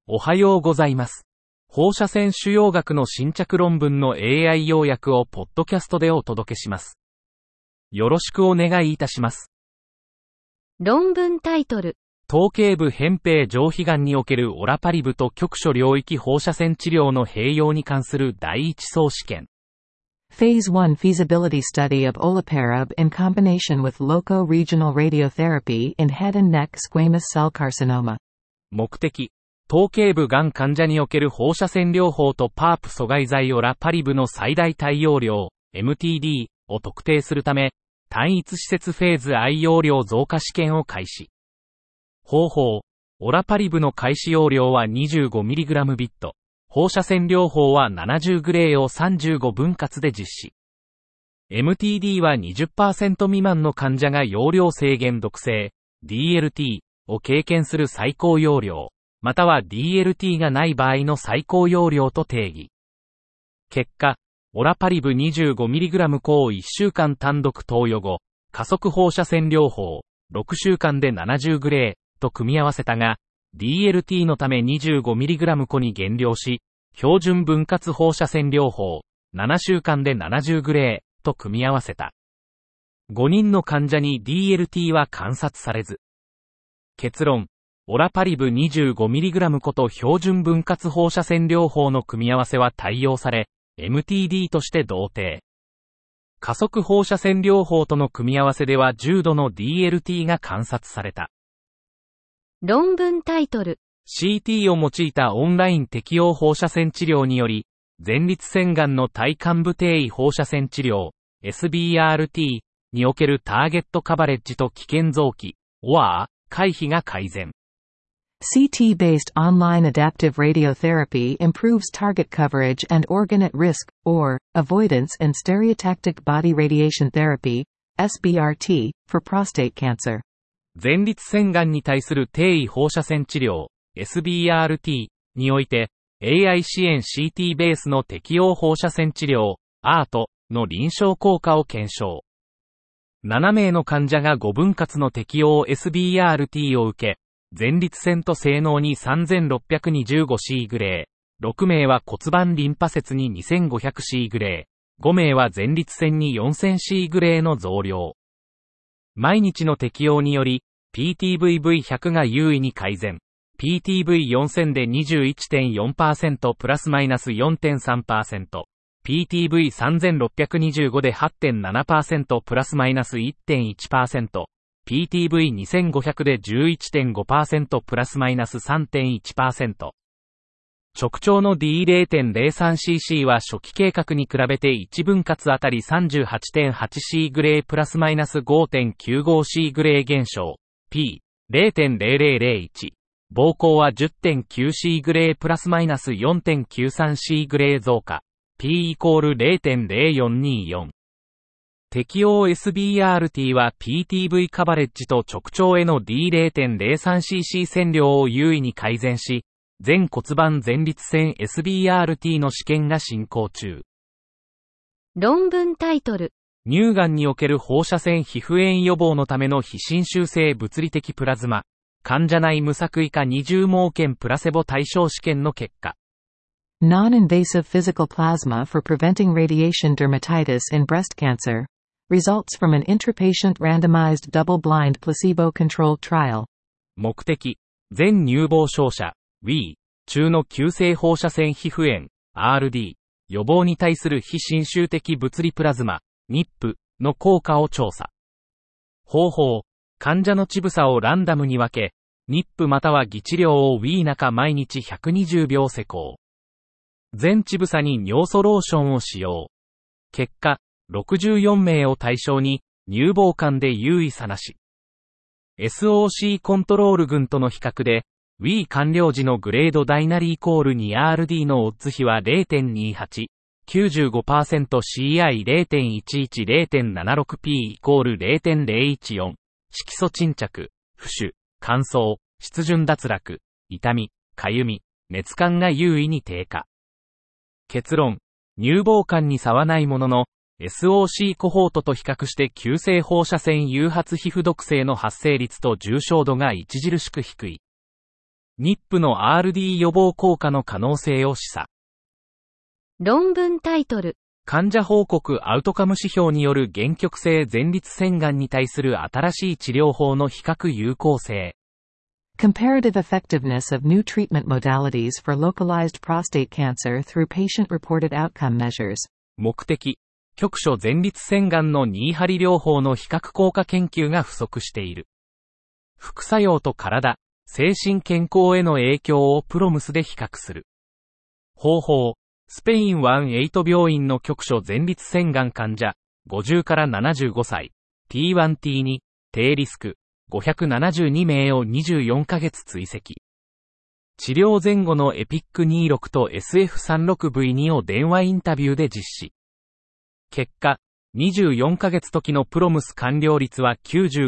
おはようございます。放射線腫瘍学の新着論文の AI 要約をポッドキャストでお届けします。よろしくお願いいたします。 論文タイトル。 頭頸部扁平上皮がんにおけるオラパリブと局所領域放射線治療の併用に関する第一層試験。 Phase 1 Feasibility Study of Olaparib in combination with loco-regional radiotherapy in head and neck squamous cell carcinoma。 目的。頭頸部がん患者における放射線療法とパープ阻害剤オラパリブの最大対応量、MTD を特定するため、単一施設フェーズ I 容量増加試験を開始。方法、オラパリブの開始容量は 25mg ビット、放射線療法は70グレーを35分割で実施。MTD は 20% 未満の患者が容量制限毒性、DLT を経験する最高容量。または DLT がない場合の最高容量と定義。結果、オラパリブ 25mg 抗1週間単独投与後、加速放射線療法、6週間で70グレーと組み合わせたが、DLT のため 25mg 個に減量し、標準分割放射線療法、7週間で70グレーと組み合わせた。5人の患者に DLT は観察されず。結論。オラパリブ 25mg 個と標準分割放射線療法の組み合わせは対応され、MTD として同定。加速放射線療法との組み合わせでは重度の DLT が観察された。 論文タイトル。 CT を用いたオンライン適用放射線治療により、前立腺がんの体幹部転移放射線治療、SBRT におけるターゲットカバレッジと危険臓器、OR、回避が改善。 CT-based online adaptive radiotherapy improves target coverage and organ at risk, or, avoidance in stereotactic body radiation therapy, SBRT, for prostate cancer. 前立腺がんに対する転移放射線治療、SBRT において、AI 支援 CT ベースの適用放射線治療、ART の臨床効果を検証。7名の患者が5分割の適用 SBRT を受け、前立腺と性能に 3625C グレー、6名は骨盤リンパ節に 2500C グレー、5名は前立腺に 4000C グレーの増量。毎日の適用により、PTVV100 が優位に改善。PTV4000 で 21.4% プラスマイナス 4.3%。PTV3625 で 8.7% プラスマイナス 1.1%。PTV2500 で 11.5% プラスマイナス 3.1%。直腸の D0.03cc は初期計画に比べて1分割あたり 38.8C グレープラスマイナス 5.95C グレー減少。P、0.0001。膀胱は 10.9C グレープラスマイナス 4.93C グレー増加。P イコール 0.0424。適用 SBRT は PTV カバレッジと直腸への D0.03cc 線量を優位に改善し、全骨盤前立腺 SBRT の試験が進行中。 論文タイトル。 乳がんにおける放射線皮膚炎予防のための非侵襲性物理的プラズマ、患者内無作為化20盲検プラセボ対象試験の結果。 Non-invasive physical plasma for preventing radiation dermatitis in breast cancer. Results from an intrapatient randomized double-blind placebo-controlled trial. 目的、全乳房照射、WE、中の急性放射線皮膚炎、RD、予防に対する非侵襲的物理プラズマ、NIP の効果を調査。方法、患者の乳房をランダムに分け、NIP または偽治療を WE 中毎日120秒施行。全乳房に尿素ローションを使用。結果、64名を対象に、乳房間で優位差なし。SOC コントロール群との比較で、WE 完了時のグレードダイナリイコール 2RD のオッズ比は 0.28、95%CI0.11、0.76P イコール 0.014、色素沈着、浮腫、乾燥、湿潤脱落、痛み、かゆみ、熱感が優位に低下。結論、乳房間に差はないものの、SOC コホートと比較して急性放射線誘発皮膚毒性の発生率と重症度が著しく低い。 NIP の RD 予防効果の可能性を示唆。 論文タイトル。 患者報告アウトカム指標による限局性前立腺がんに対する新しい治療法の比較有効性。 Comparative effectiveness of new treatment modalities for localized prostate cancer through patient-reported outcome measures. 目的、局所前立腺がんの2針療法の比較効果研究が不足している。副作用と体、精神健康への影響をプロムスで比較する。方法、スペイン1-8病院の局所前立腺がん患者、50から75歳、T1T2、低リスク、572名を24ヶ月追跡。治療前後のエピック26と SF36V2 を電話インタビューで実施。結果、24ヶ月時のプロムス完了率は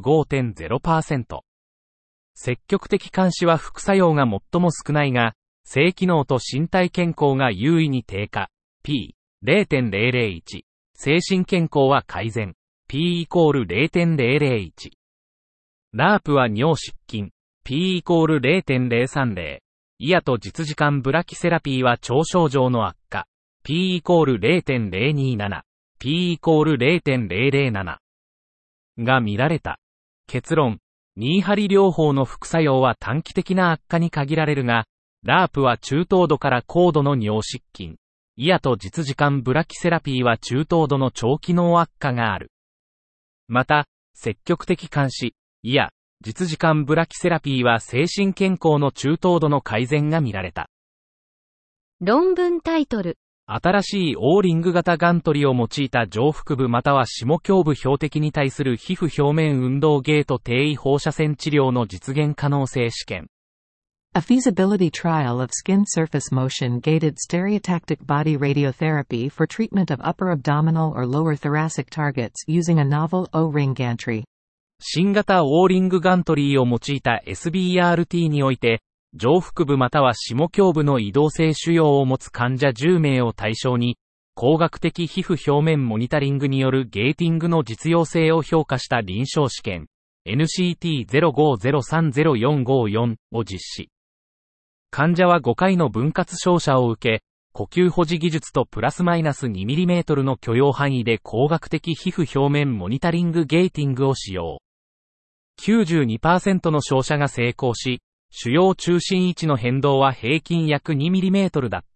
95.0%。積極的監視は副作用が最も少ないが、性機能と身体健康が優位に低下。P、0.001。精神健康は改善。P=0.001。ラープは尿失禁。P=0.030。イヤと実時間ブラキセラピーは腸症状の悪化。P=0.027。P=0.007。が見られた。結論。2針療法の副作用は短期的な悪化に限られるが、ラープは中等度から高度の尿失禁。イヤと実時間ブラキセラピーは中等度の腸機能悪化がある。また、積極的監視、イヤ、実時間ブラキセラピーは精神健康の中等度の改善が見られた。 論文タイトル。 新しいオーリング型ガントリを用いた上腹部または下胸部標的に対する皮膚表面運動ゲート低位放射線治療の実現可能性試験。 A feasibility trial of skin surface motion-gated stereotactic body radiotherapy for treatment of upper abdominal or lower thoracic targets using a novel O-ring gantry. 新型オーリングガントリーを用いた SBRT において、上腹部または下胸部の移動性腫瘍を持つ患者10名を対象に、光学的皮膚表面モニタリングによるゲーティングの実用性を評価した臨床試験、NCT05030454 を実施。患者は5回の分割照射を受け、呼吸保持技術とプラスマイナス 2mm の許容範囲で光学的皮膚表面モニタリングゲーティングを使用。92% の照射が成功し、腫瘍中心位置の変動は平均約 2mm だった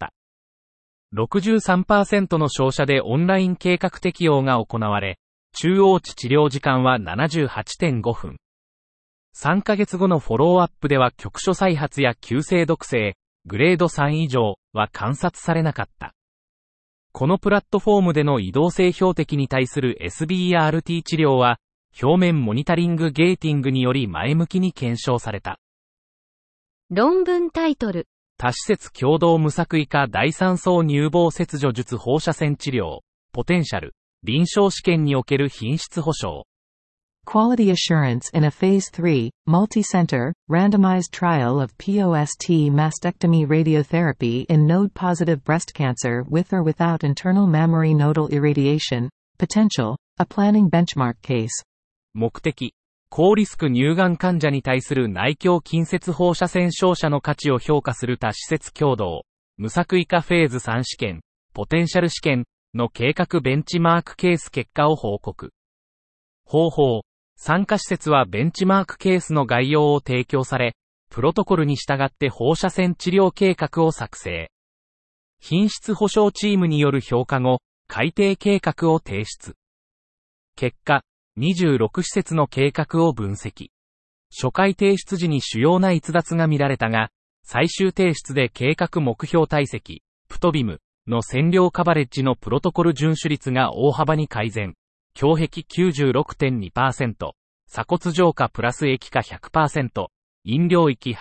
。63% の照射でオンライン計画適用が行われ、中央値治療時間は 78.5 分。3ヶ月後のフォローアップでは局所再発や急性毒性、グレード3以上は観察されなかった。このプラットフォームでの移動性標的に対する SBRT 治療は、表面モニタリングゲーティングにより前向きに検証された。 論文タイトル。 多施設共同無作為化第三層乳房切除術放射線治療、ポテンシャル、臨床試験における品質保証。 Quality assurance in a Phase 3, multi-center, randomized trial of POST mastectomy radiotherapy in node-positive breast cancer with or without internal mammary nodal irradiation, potential, a planning benchmark case. 目的。高リスク乳がん患者に対する内胸近接放射線照射の価値を評価する多施設共同、無作為化フェーズ3試験、ポテンシャル試験の計画ベンチマークケース結果を報告。方法、参加施設はベンチマークケースの概要を提供され、プロトコルに従って放射線治療計画を作成。品質保証チームによる評価後、改定計画を提出。結果、26施設の計画を分析。初回提出時に主要な逸脱が見られたが、最終提出で計画目標体積、プトビムの線量カバレッジのプロトコル遵守率が大幅に改善。胸壁 96.2%、鎖骨浄化プラス液化 100%、飲料域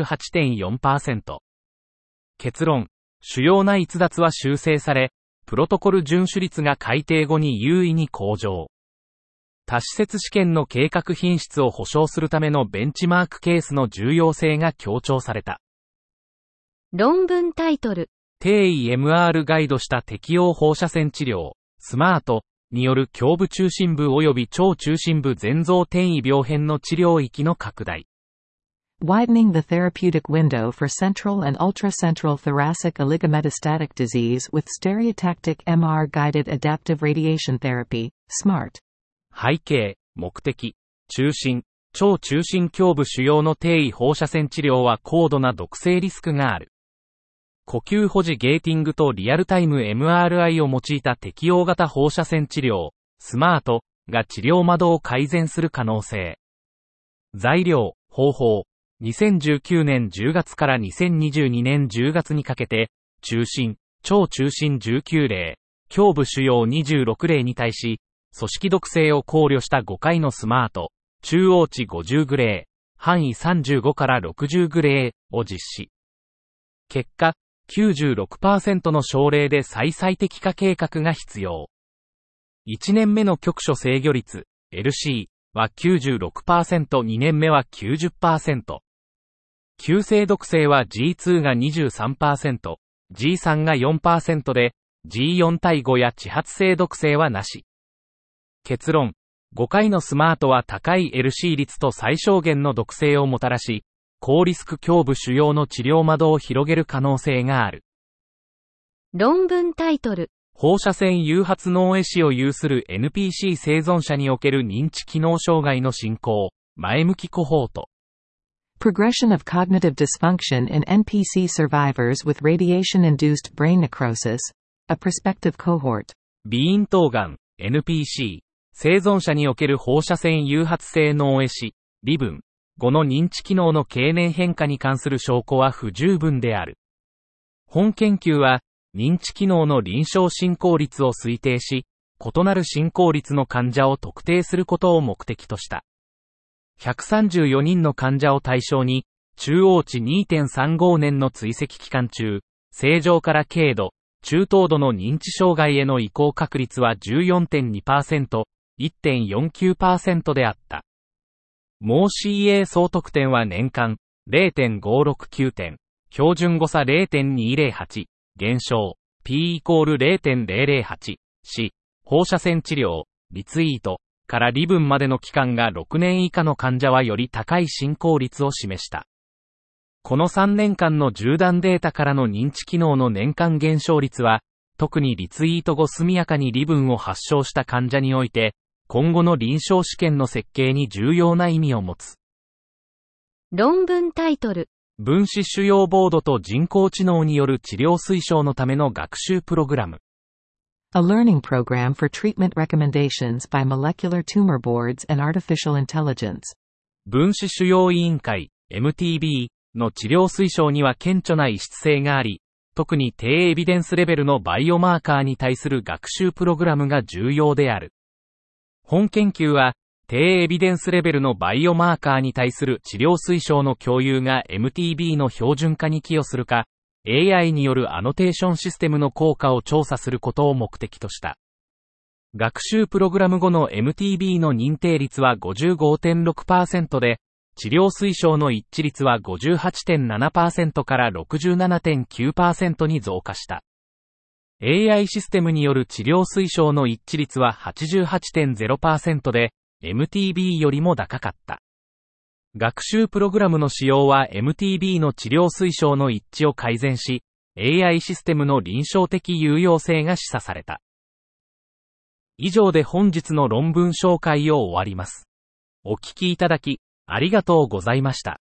88.4%。結論、主要な逸脱は修正され、プロトコル遵守率が改定後に優位に向上。多施設試験の計画品質を保証するためのベンチマークケースの重要性が強調された。 論文タイトル。 低位 MR ガイドした適応放射線治療、スマートによる胸部中心部及び腸中心部前臓転移病変の治療域の拡大。 widening the therapeutic window for central and ultracentral thoracic oligometastatic disease with stereotactic MR-guided adaptive radiation therapy, SMART. 背景、目的、中心、超中心胸部腫瘍の低位放射線治療は高度な毒性リスクがある。呼吸保持ゲーティングとリアルタイム MRI を用いた適応型放射線治療、スマートが治療窓を改善する可能性。材料、方法。2019年10月から2022年10月にかけて、中心、超中心19例、胸部腫瘍26例に対し、組織毒性を考慮した5回のスマート、中央値50グレー、範囲35から60グレーを実施。結果、96% の症例で再最適化計画が必要。1年目の局所制御率、LC は 96%、2年目は 90%。急性毒性は G2 が 23%、G3 が 4% で、G4 対5や地発性毒性はなし。結論、5回のスマートは高い LC 率と最小限の毒性をもたらし、高リスク胸部腫瘍の治療窓を広げる可能性がある。 論文タイトル。 放射線誘発脳壊死を有する NPC 生存者における認知機能障害の進行、前向きコホート。 Progression of cognitive dysfunction in NPC survivors with radiation-induced brain necrosis, a prospective cohort. 鼻咽頭がん、NPC、生存者における放射線誘発性脳壊死、微分、後の認知機能の経年変化に関する証拠は不十分である。本研究は、認知機能の臨床進行率を推定し、異なる進行率の患者を特定することを目的とした。134人の患者を対象に、中央値 2.35 年の追跡期間中、正常から軽度、中等度の認知障害への移行確率は 14.2%、1.49% であった。毛 CA 総得点は年間 0.569 点、標準誤差 0.208、減少、P イコール 0.008、し、放射線治療、リツイート、から離分までの期間が6年以下の患者はより高い進行率を示した。この3年間の縦断データからの認知機能の年間減少率は、特にリツイート後速やかに離分を発症した患者において、今後の臨床試験の設計に重要な意味を持つ。 論文タイトル。 分子腫瘍ボードと人工知能による治療推奨のための学習プログラム。 A learning program for treatment recommendations by molecular tumor boards and artificial intelligence. 分子腫瘍委員会、MTB の治療推奨には顕著な異質性があり、特に低エビデンスレベルのバイオマーカーに対する学習プログラムが重要である。本研究は、低エビデンスレベルのバイオマーカーに対する治療推奨の共有が MTB の標準化に寄与するか、AI によるアノテーションシステムの効果を調査することを目的とした。学習プログラム後の MTB の認定率は 55.6% で、治療推奨の一致率は 58.7% から 67.9% に増加した。AI システムによる治療推奨の一致率は 88.0% で、MTB よりも高かった。学習プログラムの使用は MTB の治療推奨の一致を改善し、AI システムの臨床的有用性が示唆された。以上で本日の論文紹介を終わります。お聞きいただき、ありがとうございました。